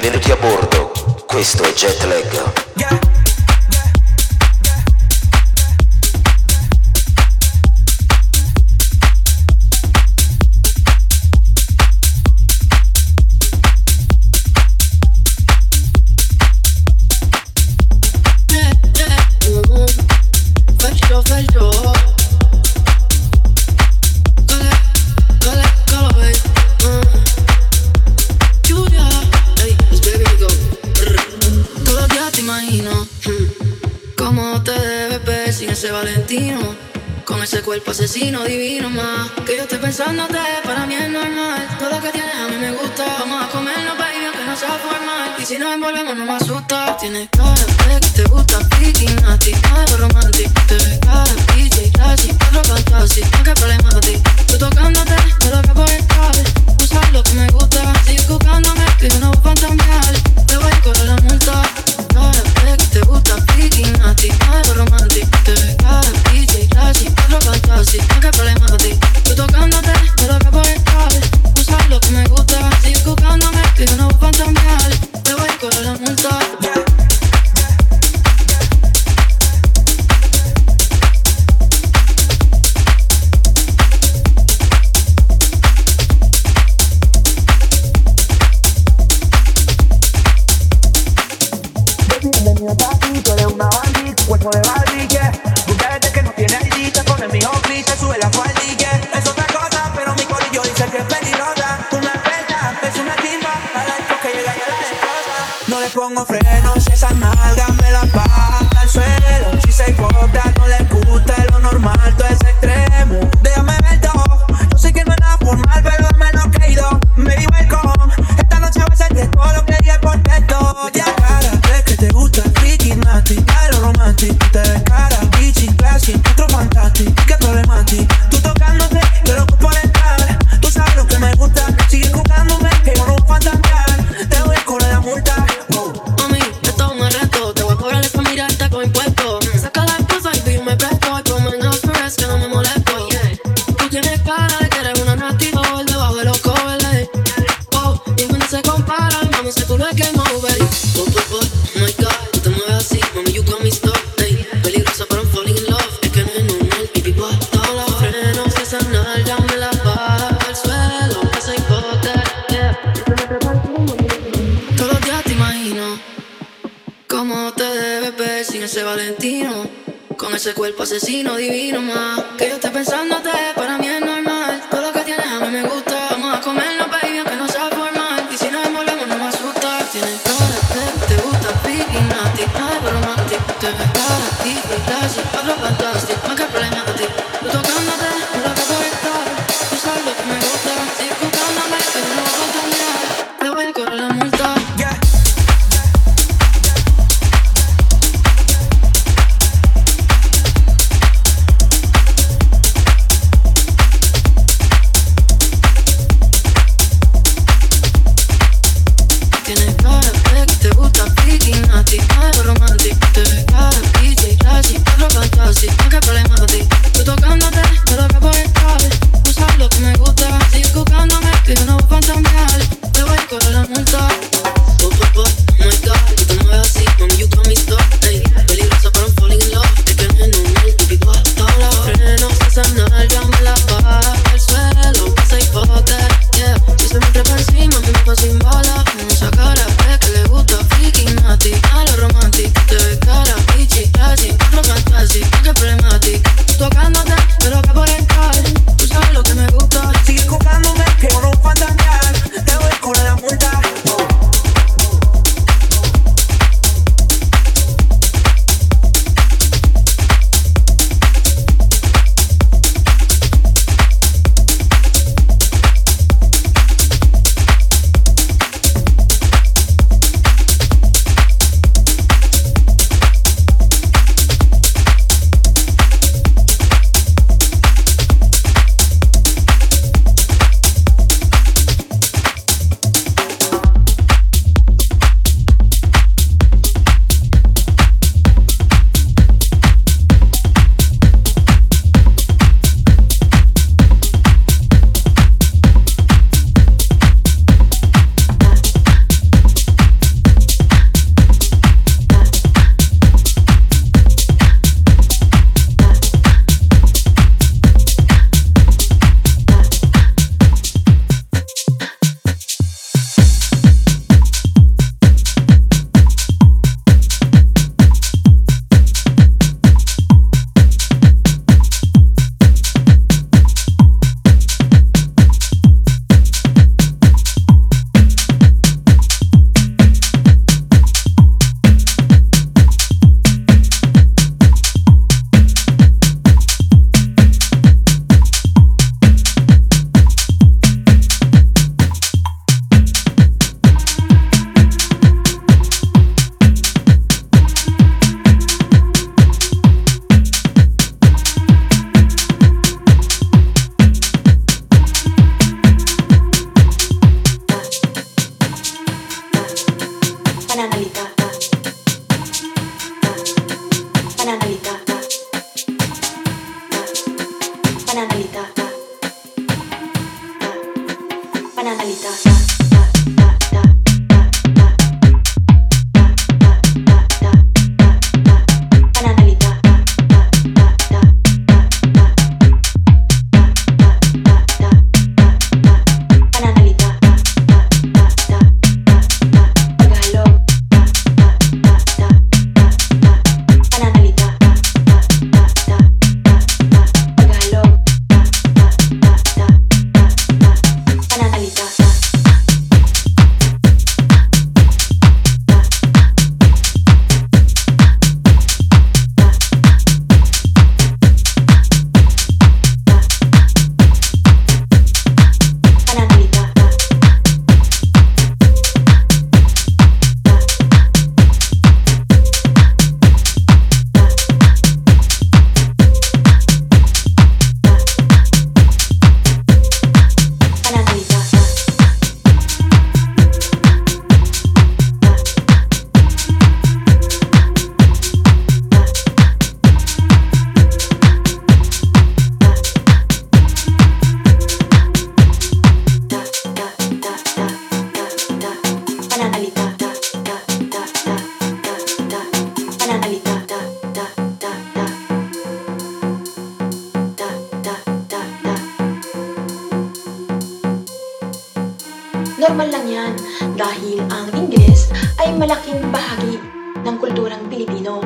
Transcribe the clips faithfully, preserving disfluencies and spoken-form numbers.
Benvenuti a bordo, questo è Jetlag. Yeah. Cuerpo asesino divino más que yo estoy pensándote, para mí es normal. Todo lo que tienes a mí me gusta. Vamos a comernos, baby, aunque no sea formal. Y si nos envolvemos no me asusta. Tienes cara de que te gusta picking a ti, algo romántico. Te ves cara D J classy, otro fantasy. No que problema a ti. Tú tocándote, me lo que por estar. Tú sabes lo que me gusta. Sigues buscándome, que yo no voy a fantamear. Te voy a correr la multa. Cara de que te gusta picking a ti, algo romántico. Te ves cara D J classy, otro fantasy. No que problema a ti. Tú tocándote, me lo que por estar. Tú sabes lo que me gusta. Sigues buscándome, que yo no voy a fantamear. Te voy a correr la multa. Tú eres una Barbie, tu cuerpo de Barbie, yeah. Mucha gente que no tiene I D, te pone mi hombre y te sube la falda, yeah. Es otra cosa, pero mi corillo dice que es peligrosa. Tú me apretas, es una chimba, a la disco que llega y a la destroza. No le pongo frenos, esa nalga me la baja al suelo. Si se hipócrita, no le gusta lo normal, todo es extremo. Déjame ver todo, yo sé que no es nada formal, pero dame lo que he ido. Me digo el con, esta noche va a ser de todo lo que dije por texto, yeah. Te gusta freaky, nasty, algo romantic. Te ves cara, bitchy, classy, otro fantastic. ¿Qué problema a ti? Tú tocándote, yo loco por entrar. Tú sabes lo que me gusta. Sigue buscándome, que yo no voy a fantasear. Te voy a cobrar la multa. Wow. Mami, esto es un reto. Te voy a cobrar esta mirada con impuesto. Saca la esposa y yo me presto. Y como en los first que no me molesto, yeah. Tú tienes cara de que eres una nasty doll debajo de los covers, eh. Oh, y cuando se comparan, mami, sé tú lo es game over. Oh, oh, oh. My God, tú te mueves así, mami, you got me stuck, ey. Peligrosa, pero I'm falling in love. Es que no es normal, baby, what? Todos los frenos, esa nalga me la baja al suelo. Esa hipócrita, yeah. Todos los días te imagino cómo te debes ver sin ese Valentino. Con ese cuerpo asesino divino más que yo esté pensándote, para mí es normal. Todo lo que tienes a mí me gusta. Vamos a comernos, baby, aunque no sea formal. Y si nos envolvemos no me asusta. Tienes cara de te gusta picking a ti, algo romántico. Te ves cara, D J classy, otro fantastic. No que problema a ti. Tú tocándote, me lo que por estar. Tú sabes lo que me gusta. Sigue buscándome, que yo no voy a fantasear. Te voy a correr la multa. Yeah. Tienes cara de que te gusta picking a ti, algo romántico. Te ves cara, D J classy, otro fantastic. No que problema. Normal lang yan dahil ang Ingles ay malaking bahagi ng kulturang Pilipino.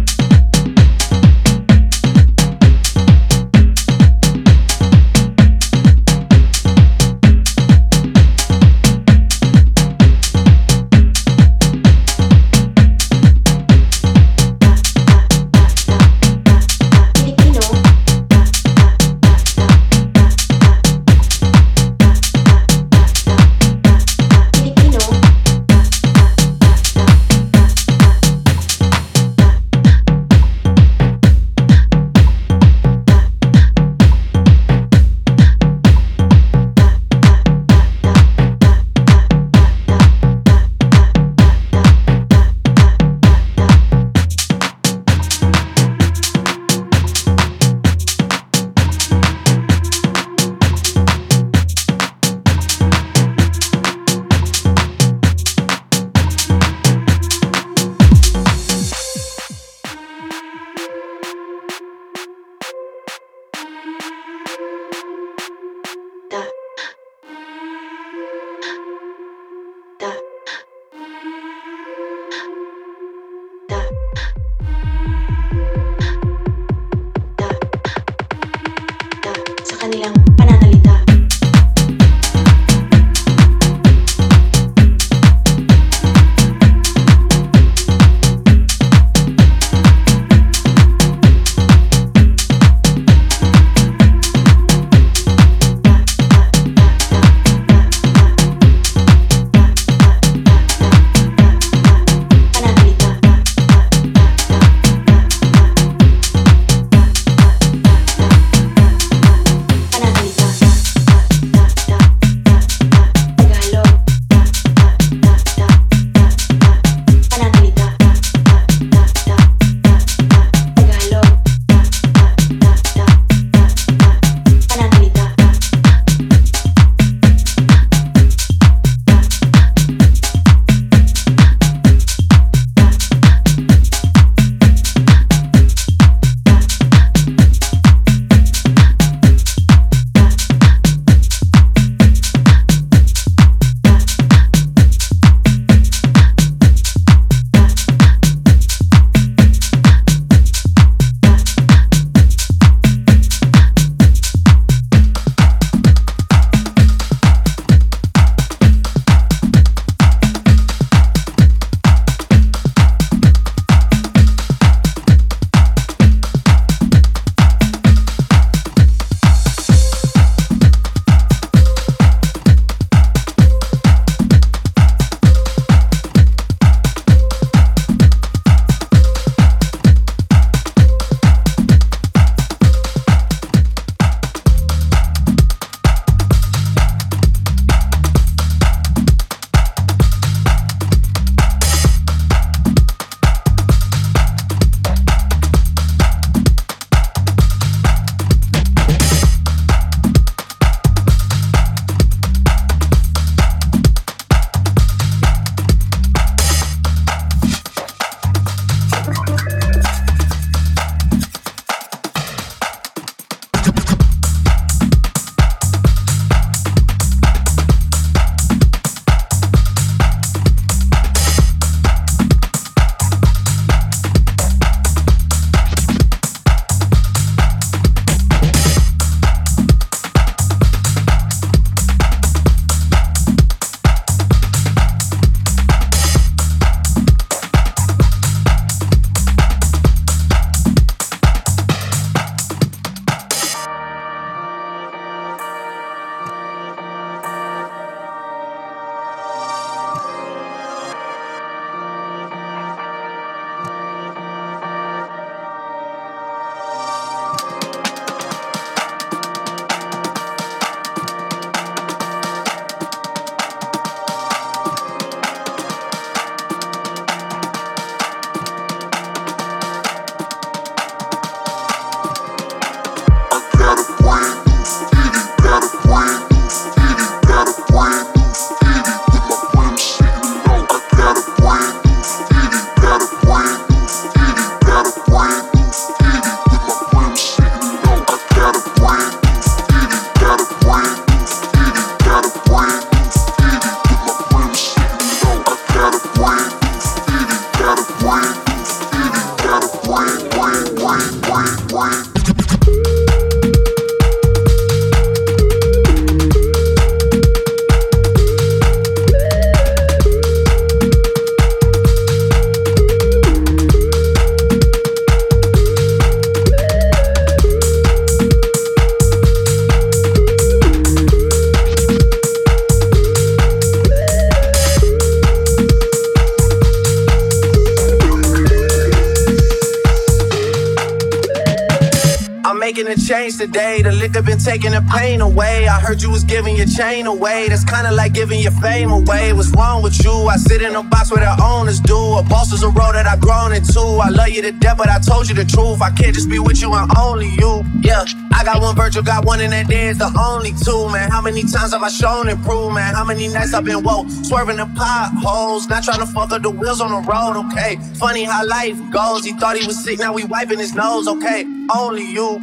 Kanilang pananalita. Pananalita. Change today, the liquor been taking the pain away. I heard you was giving your chain away. That's kinda like giving your fame away. What's wrong with you? I sit in a box where the owners do. A boss is a role that I've grown into. I love you to death, but I told you the truth. I can't just be with you and only you. Yeah, I got one Virgil, got one, and that day is the only two, man. How many times have I shown and proved, man? How many nights I've been woke, swerving the potholes, not trying to fuck up the wheels on the road, okay? Funny how life goes. He thought he was sick, now we wiping his nose, okay? Only you.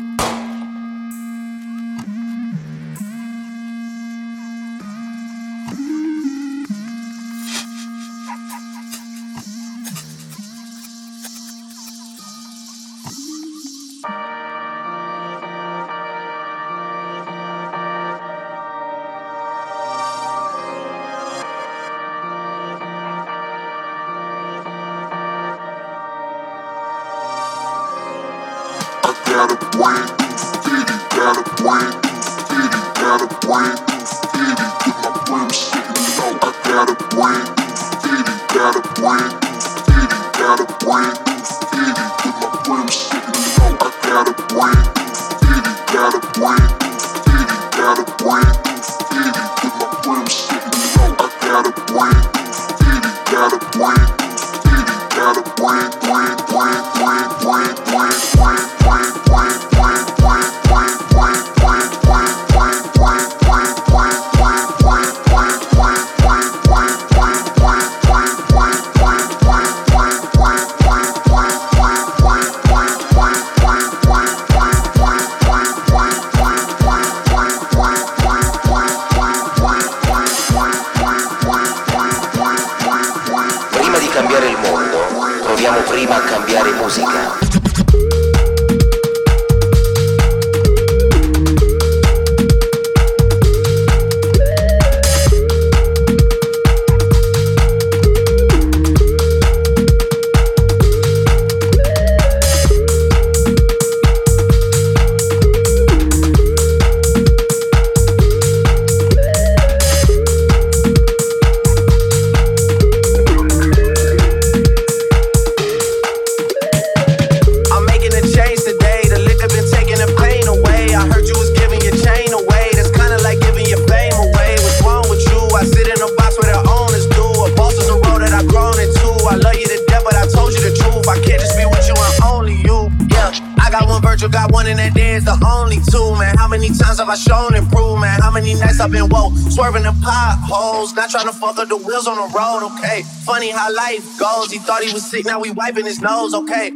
Got a plan, city, got a plan, city, got a plan, city, with my brim sitting low. I got a plan, city, got a plan, city, got a plan, city, with my brim sitting low. I got a plan, city, got a plan, city, got a plan, city, with my brim sitting low. I got a plan, city, got a plan, city, got a plan, plan, plan, plan, plan, plan, plan. Prima a cambiare musica. Got one, and that day is the only two, man. How many times have I shown and proved, man? How many nights I've been woke, swerving the potholes, not trying to fuck up the wheels on the road, okay? Funny how life goes. He thought he was sick, now we wiping his nose, okay?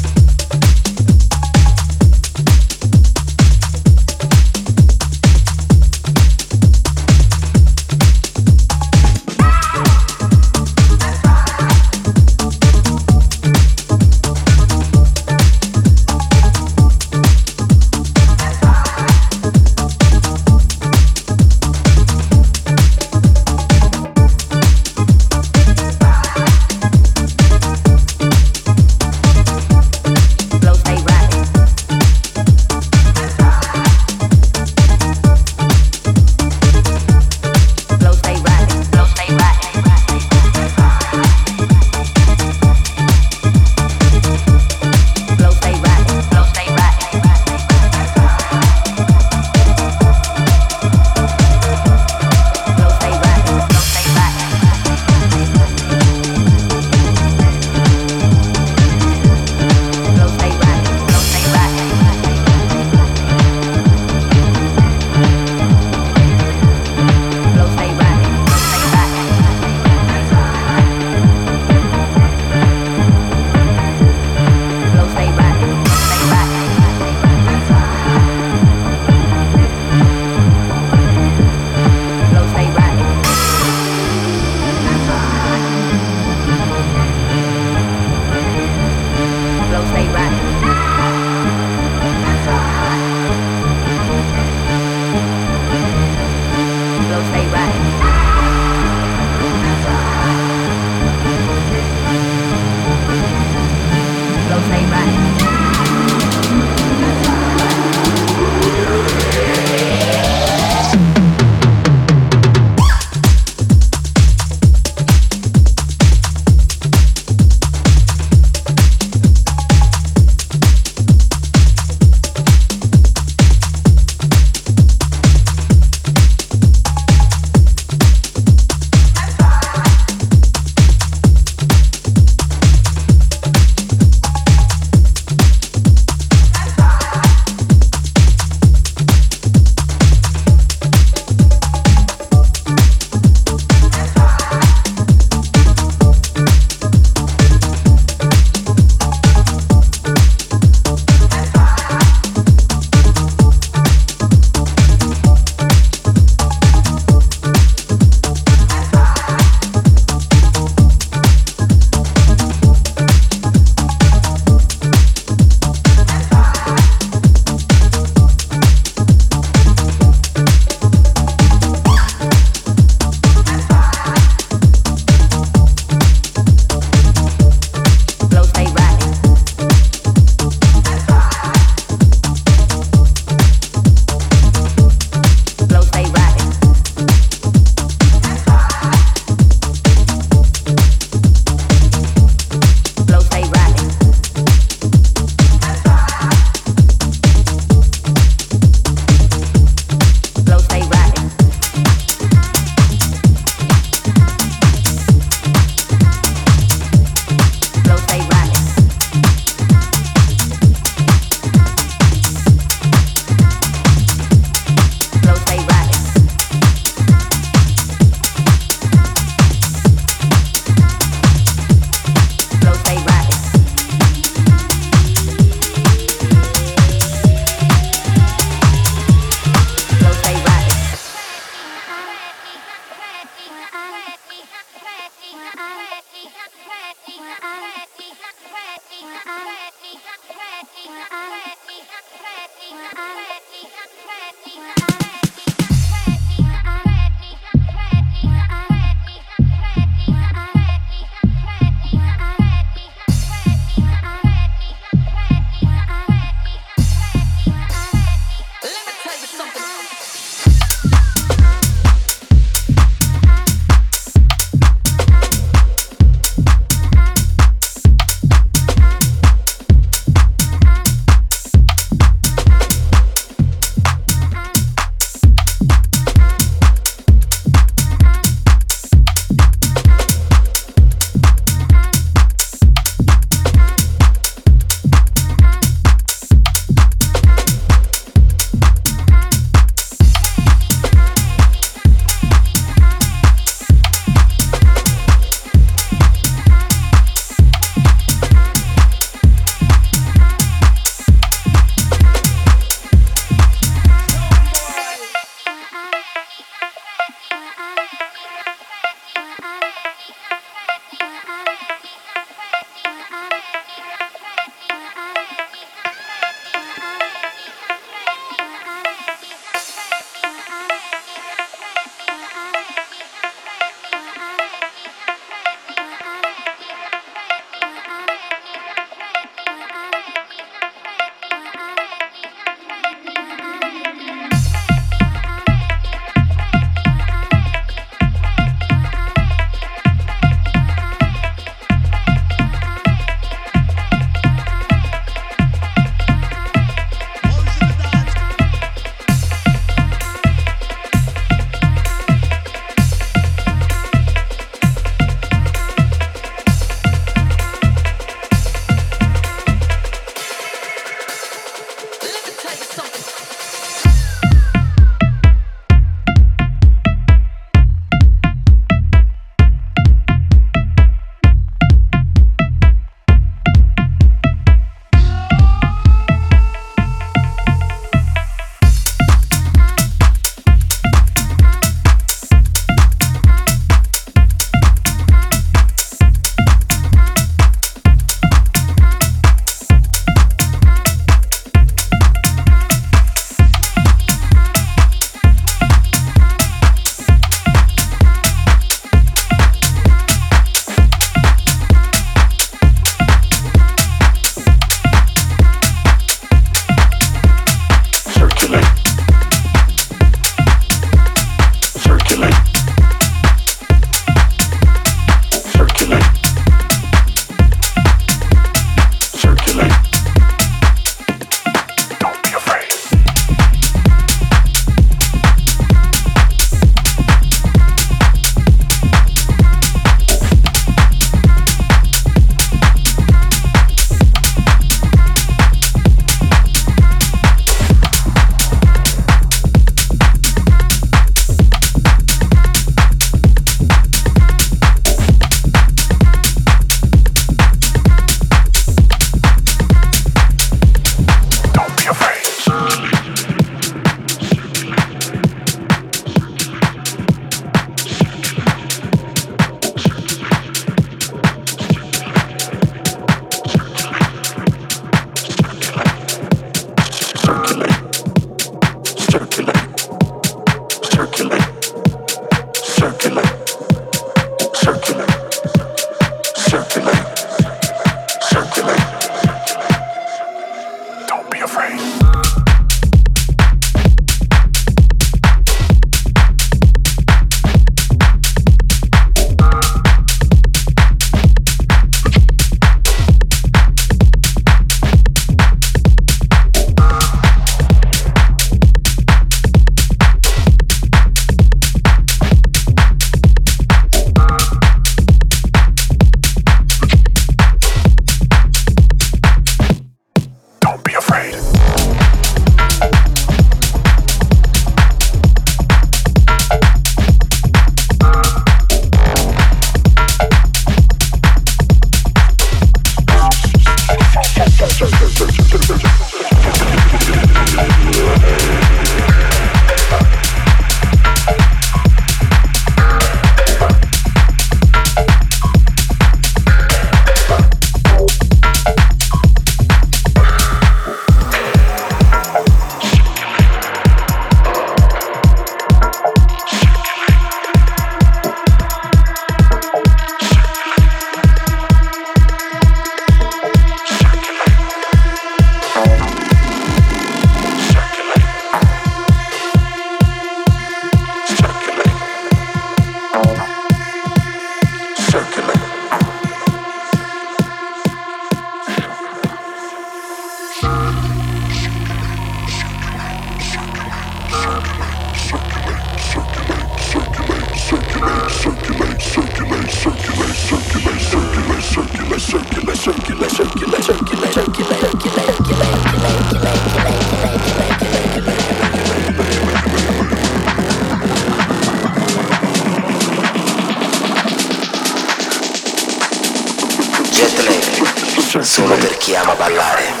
solo per chi ama ballare.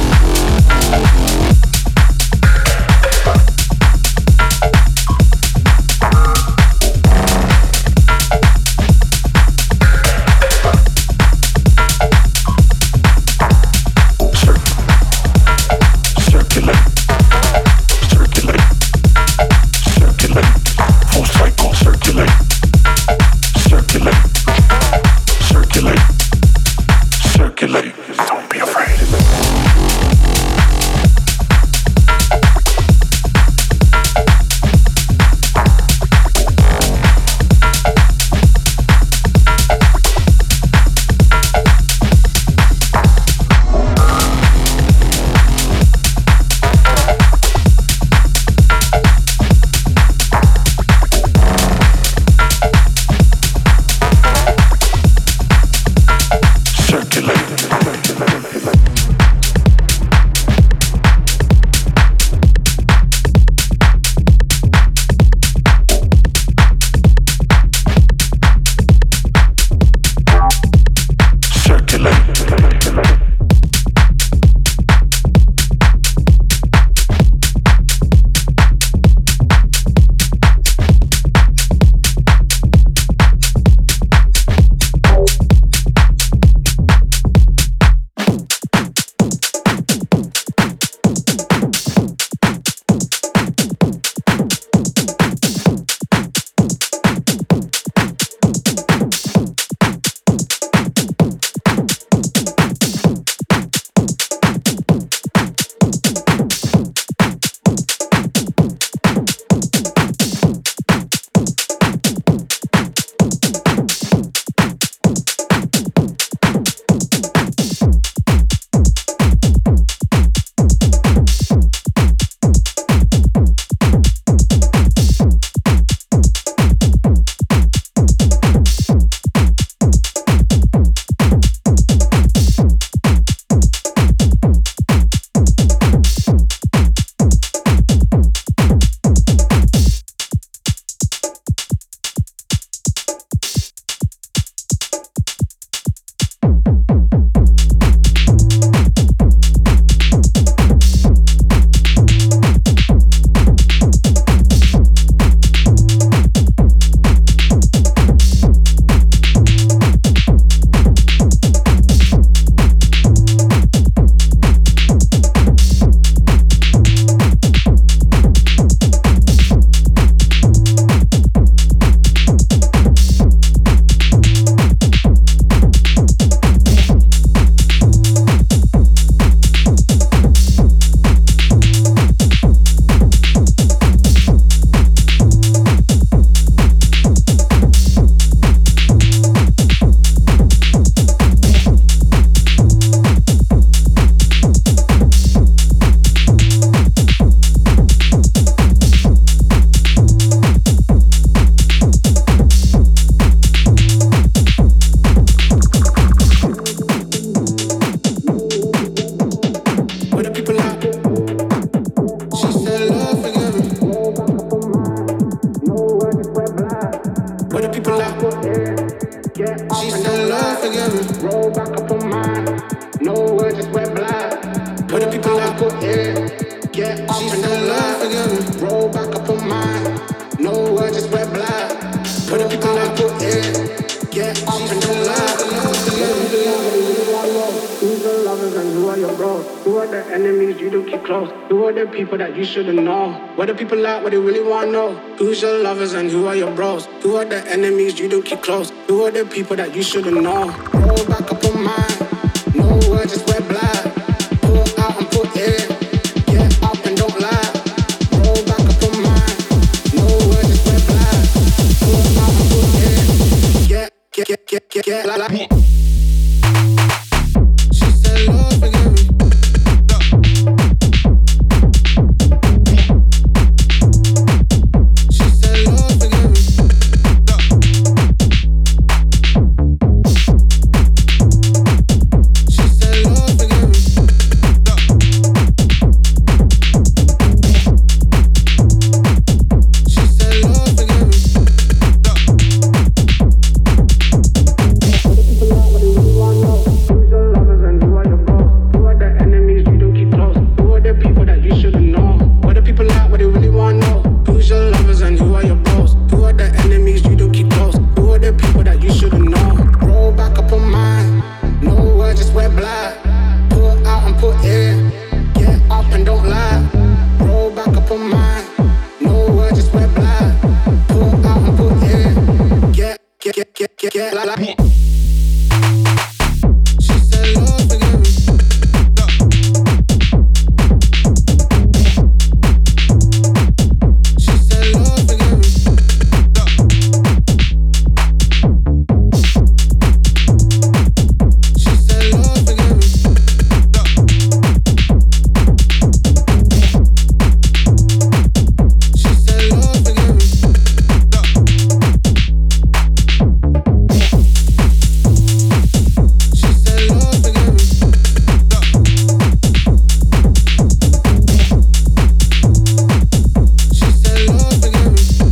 Don't be afraid. People that you shouldn't know. What do people like? What they really want to know? Who's your lovers and who are your bros? Who are the enemies you don't keep close? Who are the people that you shouldn't know? Roll back up on mine. No words, just wear black. Pull out and put in. Get up and don't lie. Roll back up on mine. No words, just wear black. Pull out and put in. Get, get, get, get, get, get, like, like. She said, Lord, forgive me. just wear black. Put out and put in. Get up and don't lie. Roll back up on mine. No word, just wear black. Put out and put in. Get, get, get, get, get, get like, like. She said love again. She said love again. She said love again. She said love again. She said love again. She said love again.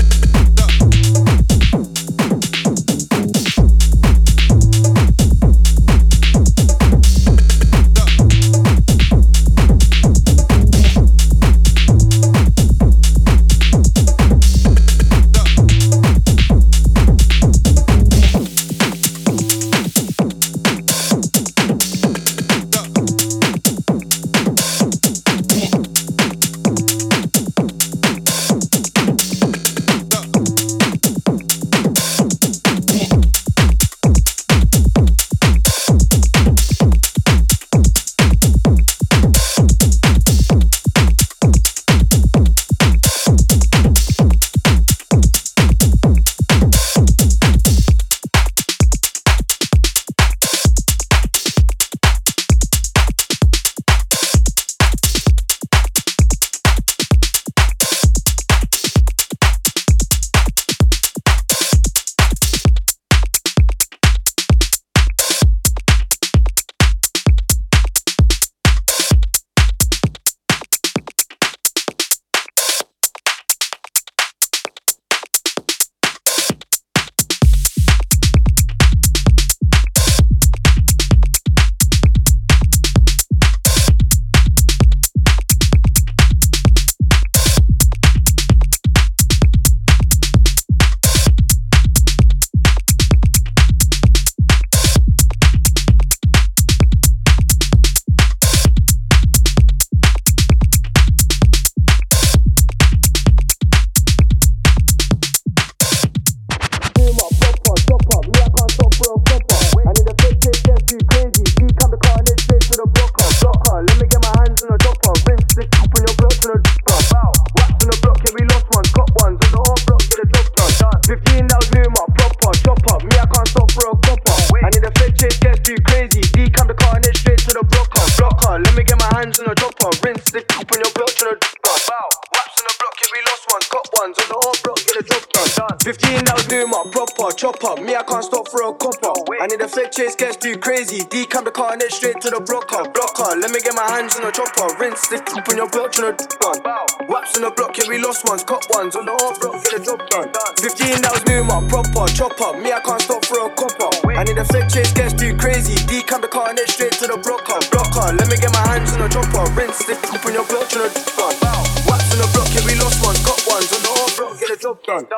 Decam the car and then straight to the blocker. Blocker, let me get my hands on the chopper. Rinse the coupe on your block, tryna do one. Waps on the block, yeah, we lost ones. Cut ones on the off block, get the job done. fifteen, that was new, my proper chopper. Me, I can't stop for a copper. I need a fake chase, gets too crazy. Decam the car and then straight to the blocker. Blocker, let me get my hands on the chopper. Rinse the coupe on your block, tryna do one. Waps on the block, yeah, we lost ones. Cut ones on the off block, get the job done.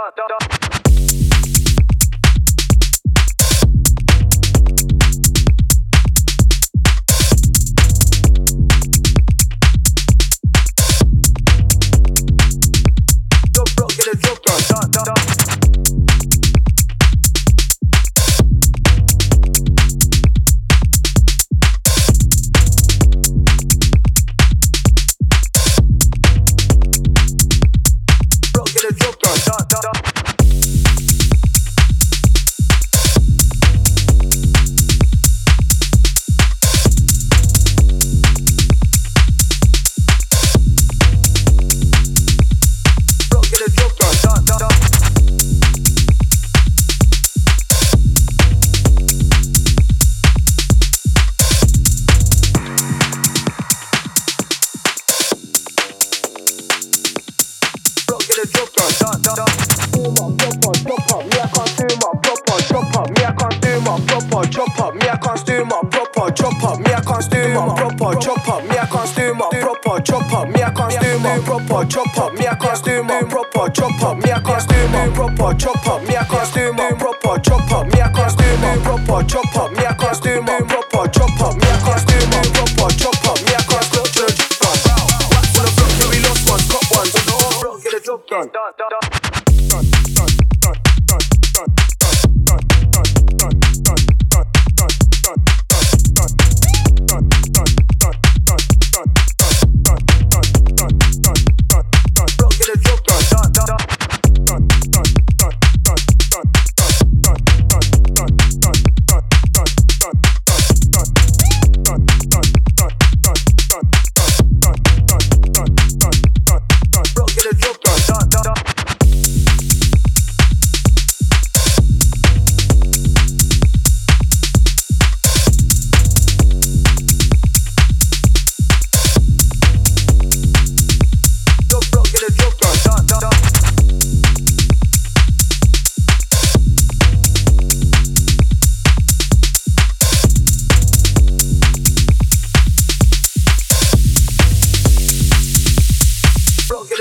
proper chop up. Me, I can't do my proper chop up. Me, I can't do my proper chop up. Me, I can't do my proper chop up. Me, I can't do my proper chop up. Me, I can't do my proper chop up.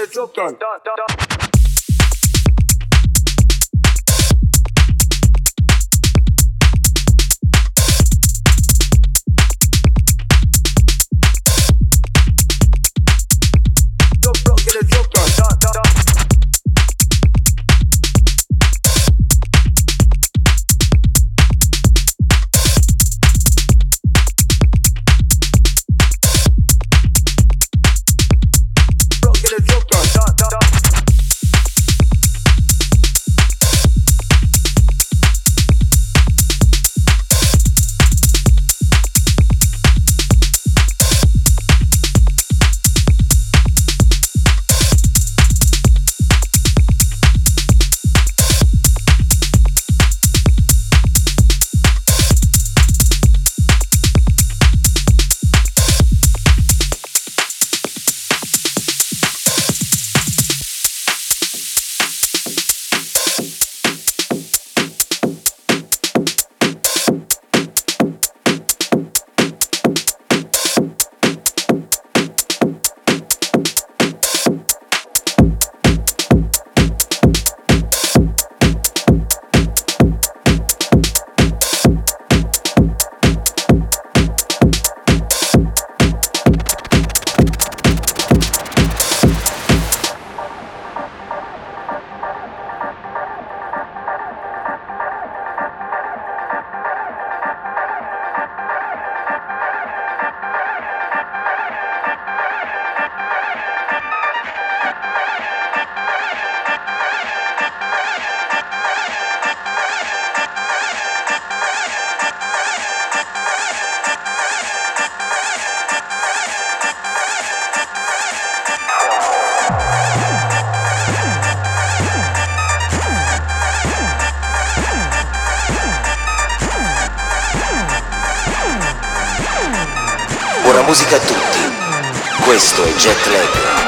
the job done. done, done, done. Buona musica a tutti, questo è Jetlag.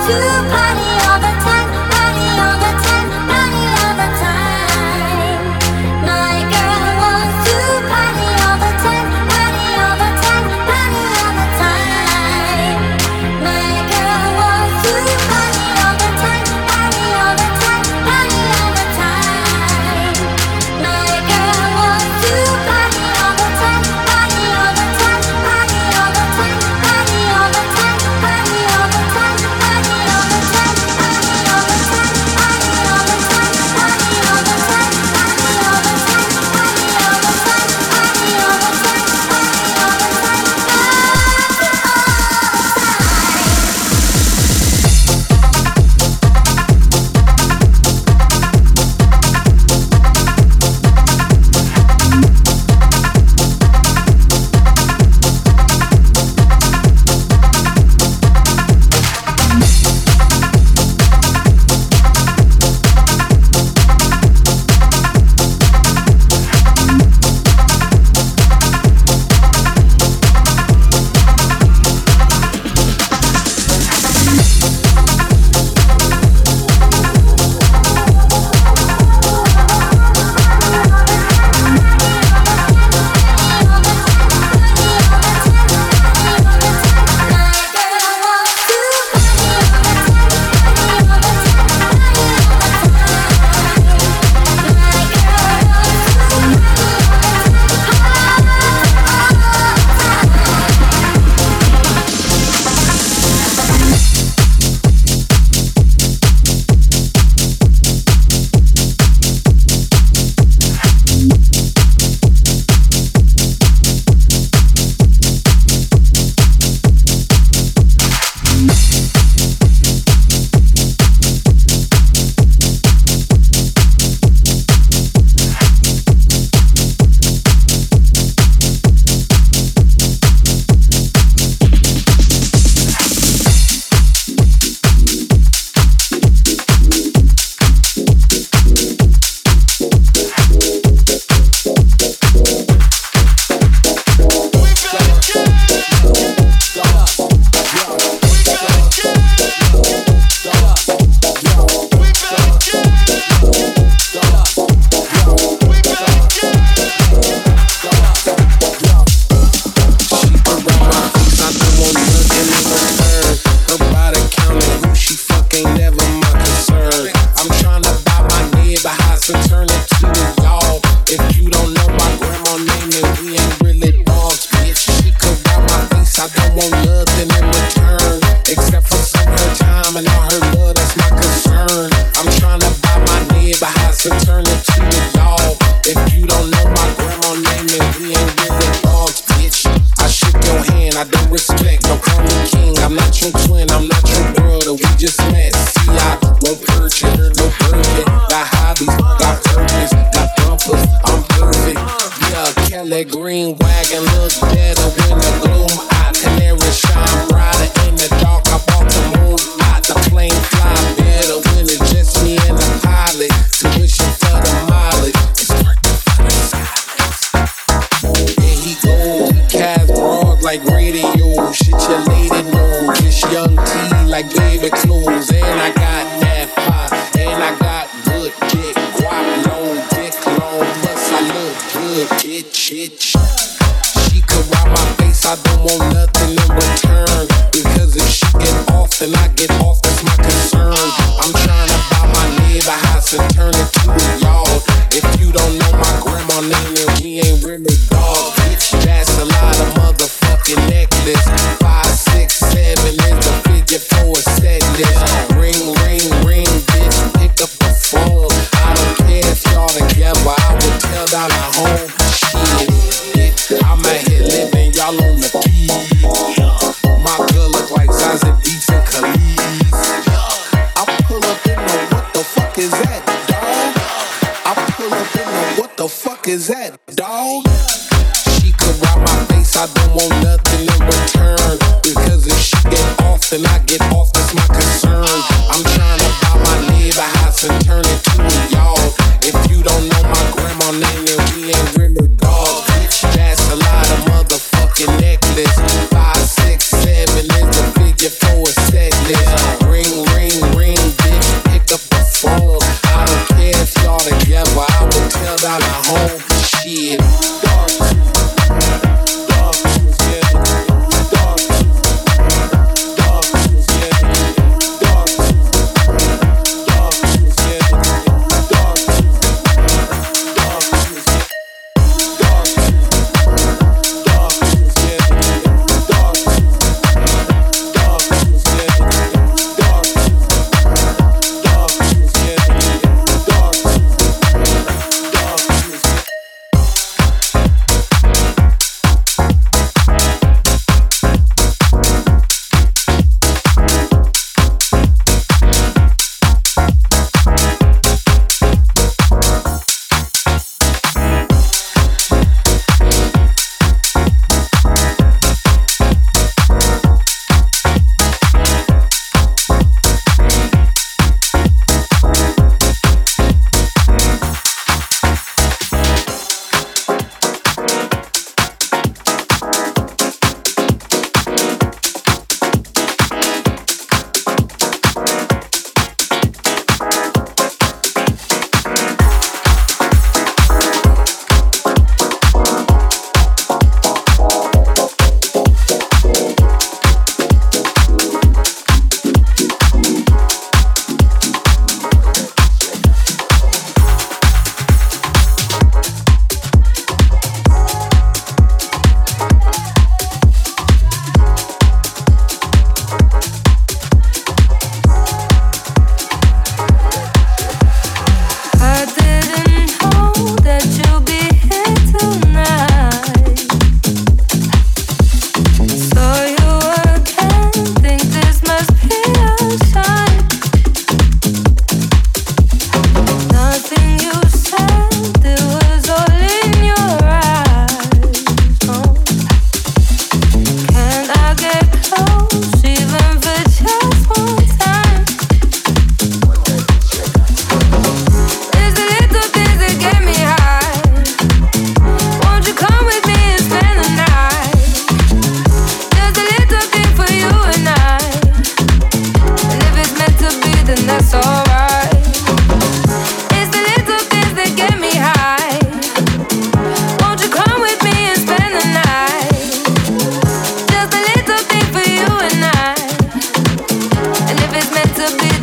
Five, six, seven is the figure for a set list. Ring,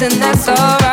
then that's alright.